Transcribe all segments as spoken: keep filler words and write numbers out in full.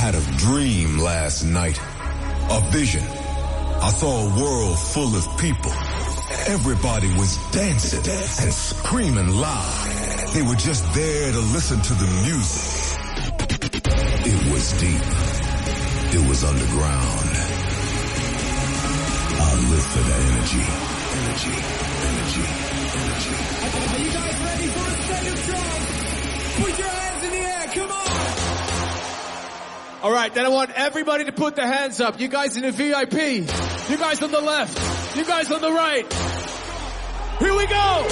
had a dream last night, a vision. I saw a world full of people. Everybody was dancing and screaming loud. They were just there to listen to the music. It was deep. It was underground. I live for the energy. Energy, energy, energy. Are you guys ready for a set of drums? Put your hands in the air, come on! All right, then I want everybody to put their hands up. You guys in the V I P. You guys on the left. You guys on the right. Here we go!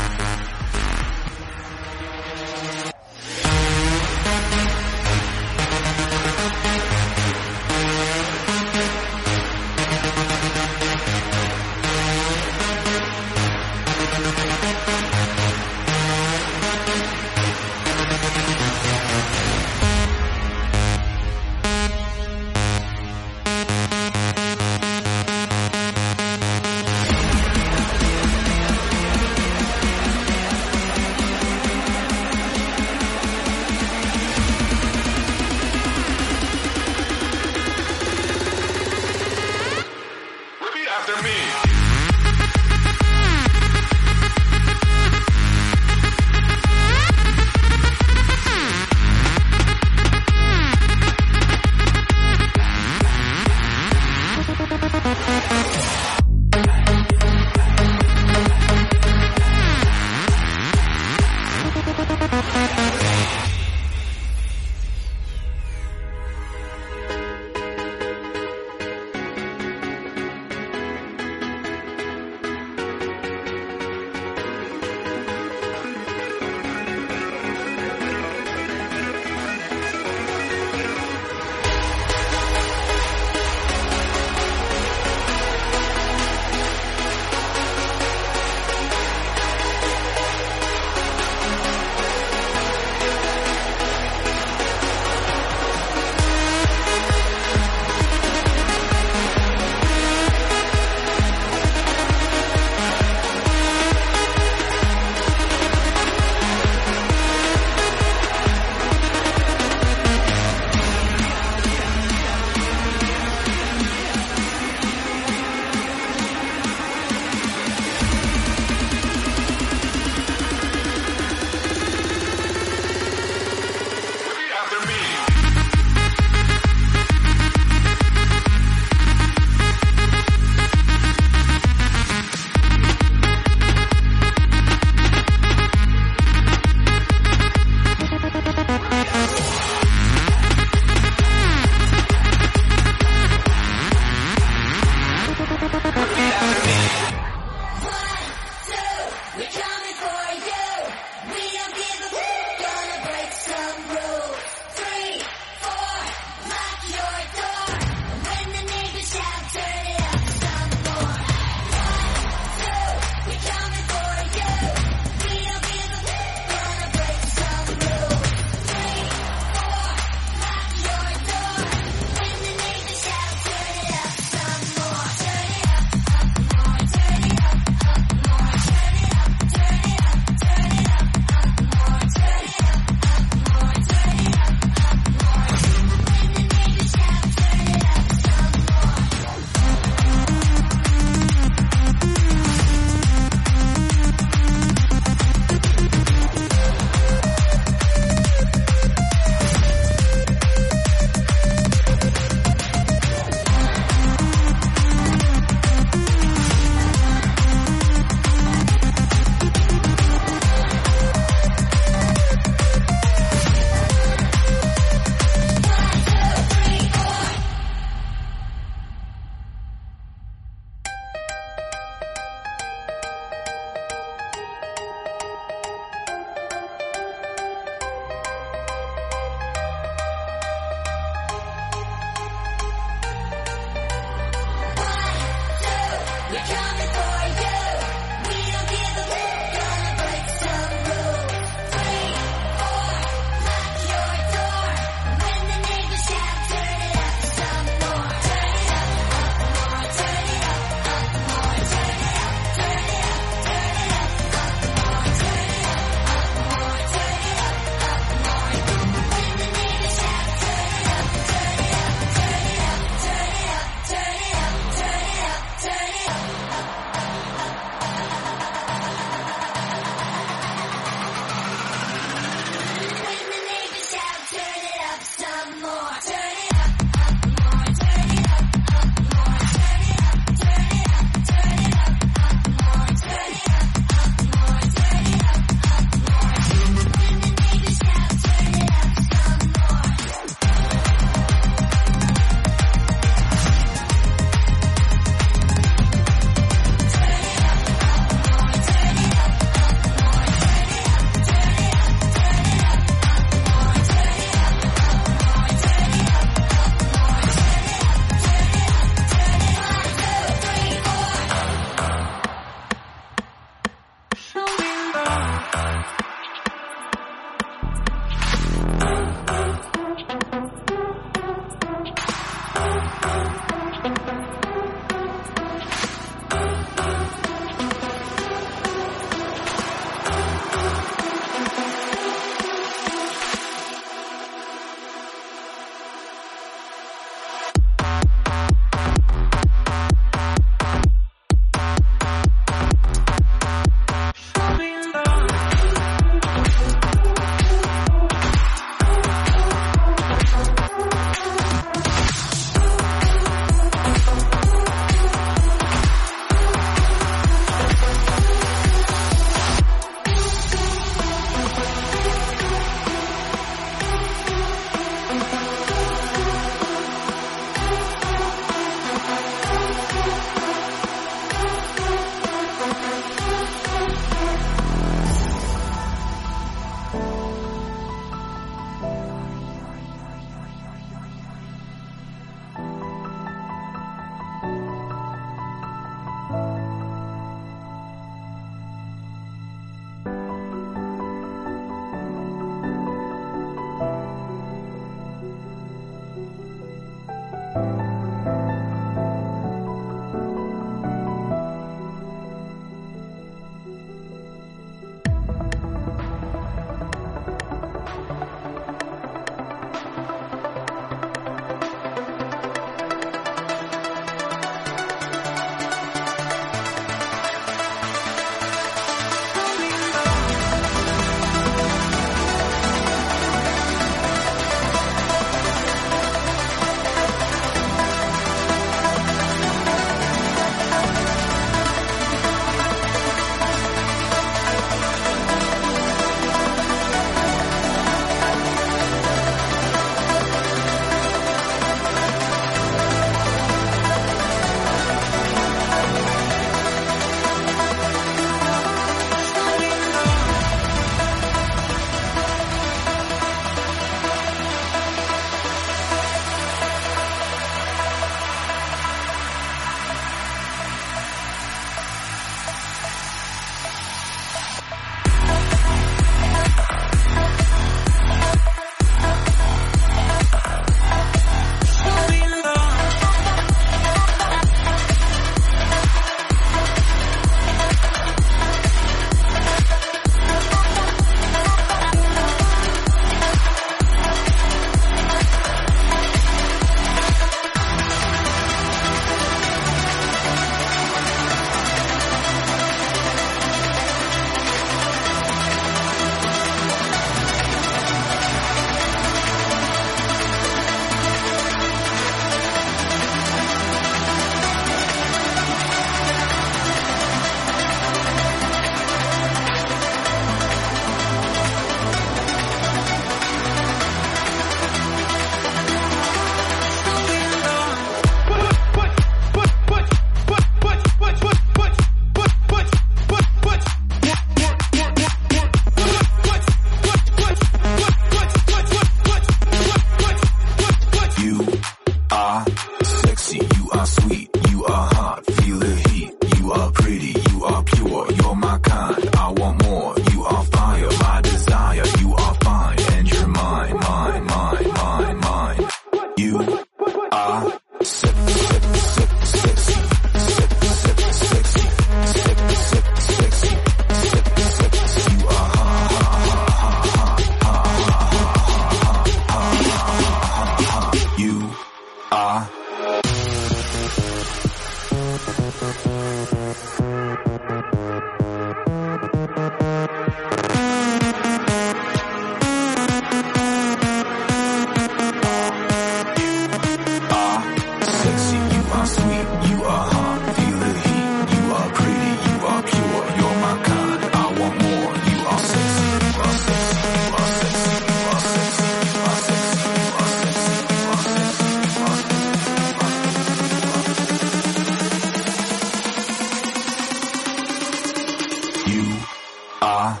You are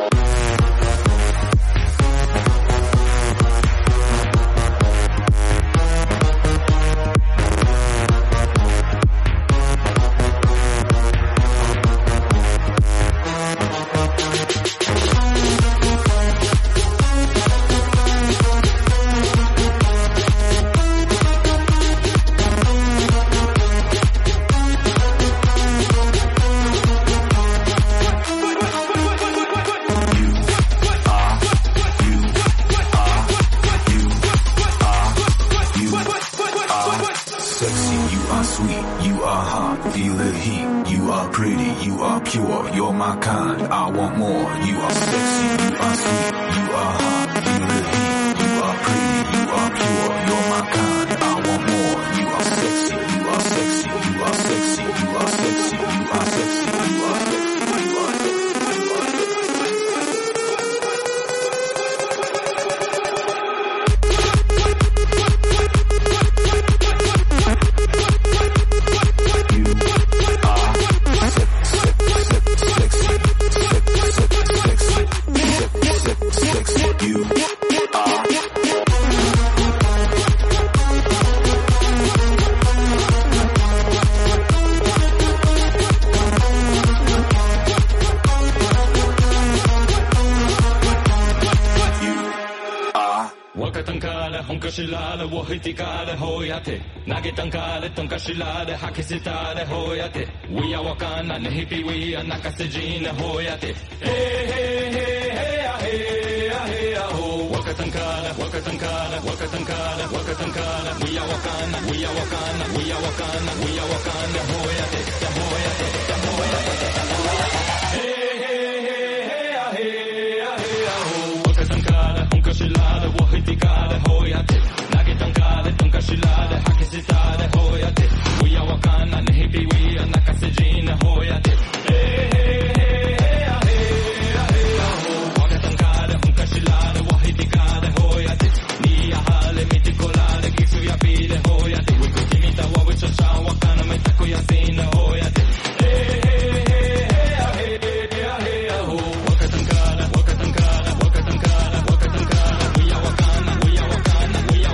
We are wakana ne hippie we are nakasejina hoyate. Hey hey hey hey hey hey ho. Wakatankara wakatankara wakatankara wakatankara. We are wakana we are wakana we are wakana we are wakana hoyate hoyate hoyate. Hey hey hey hey hey ho. Wakatankara hunkashilada wahitikara hoyate. Nagitankara tunkashilada hakisitara hoyate. We are wakana ne hippie we are nakasejina hoyate. Hey hey hey hey hey ho. Wakatankara hunkashilada wahitikara hoyate. Ni ahale mitikolada kisu ya pile hoyate. Wikutimita wawichocha wakana metako ya sina hoyate. Hey hey hey hey hey ho. Wakatankara wakatankara wakatankara wakatankara. We are wakana we are wakana we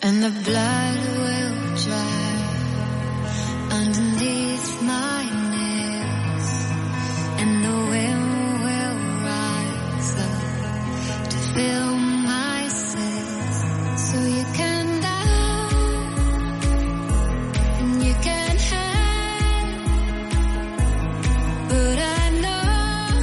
and the blood will dry underneath my nails, and the wind will rise up to fill my sails. So you can down and you can hide, but I know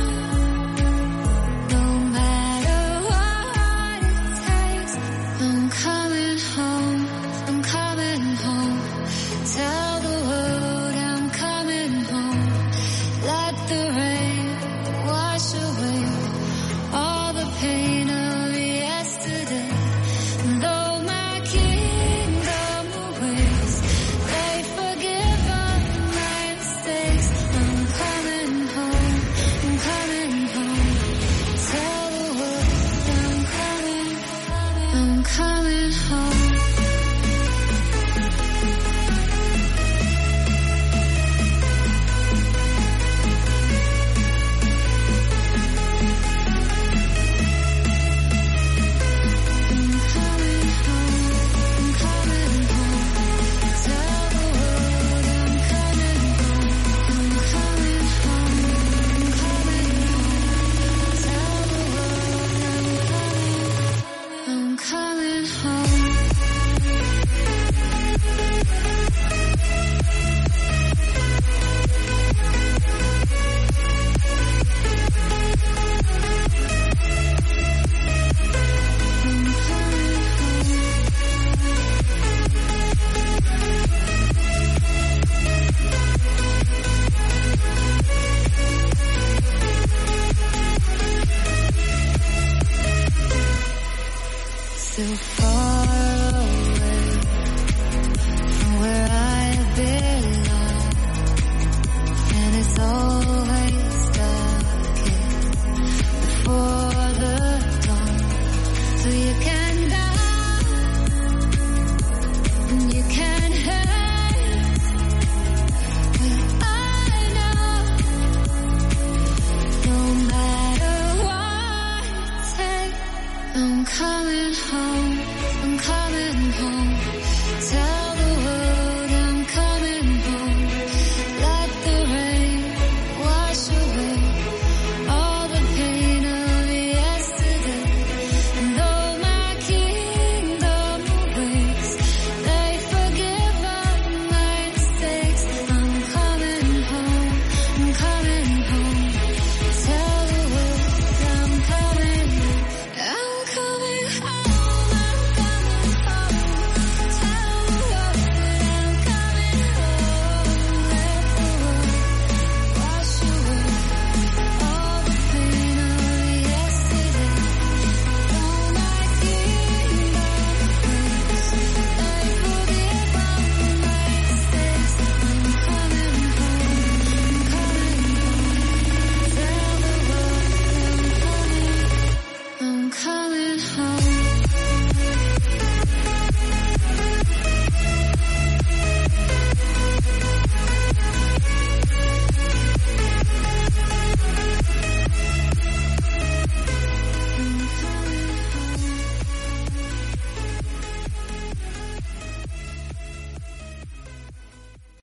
no matter what it takes, I'm coming home, I'm coming home. Tell the world I'm coming home. Let the rain wash away all the pain of yesterday. Though my kingdom awaits, they forgive all my mistakes. I'm coming home, I'm coming home. Tell the world I'm coming, I'm coming home. I'm coming home. So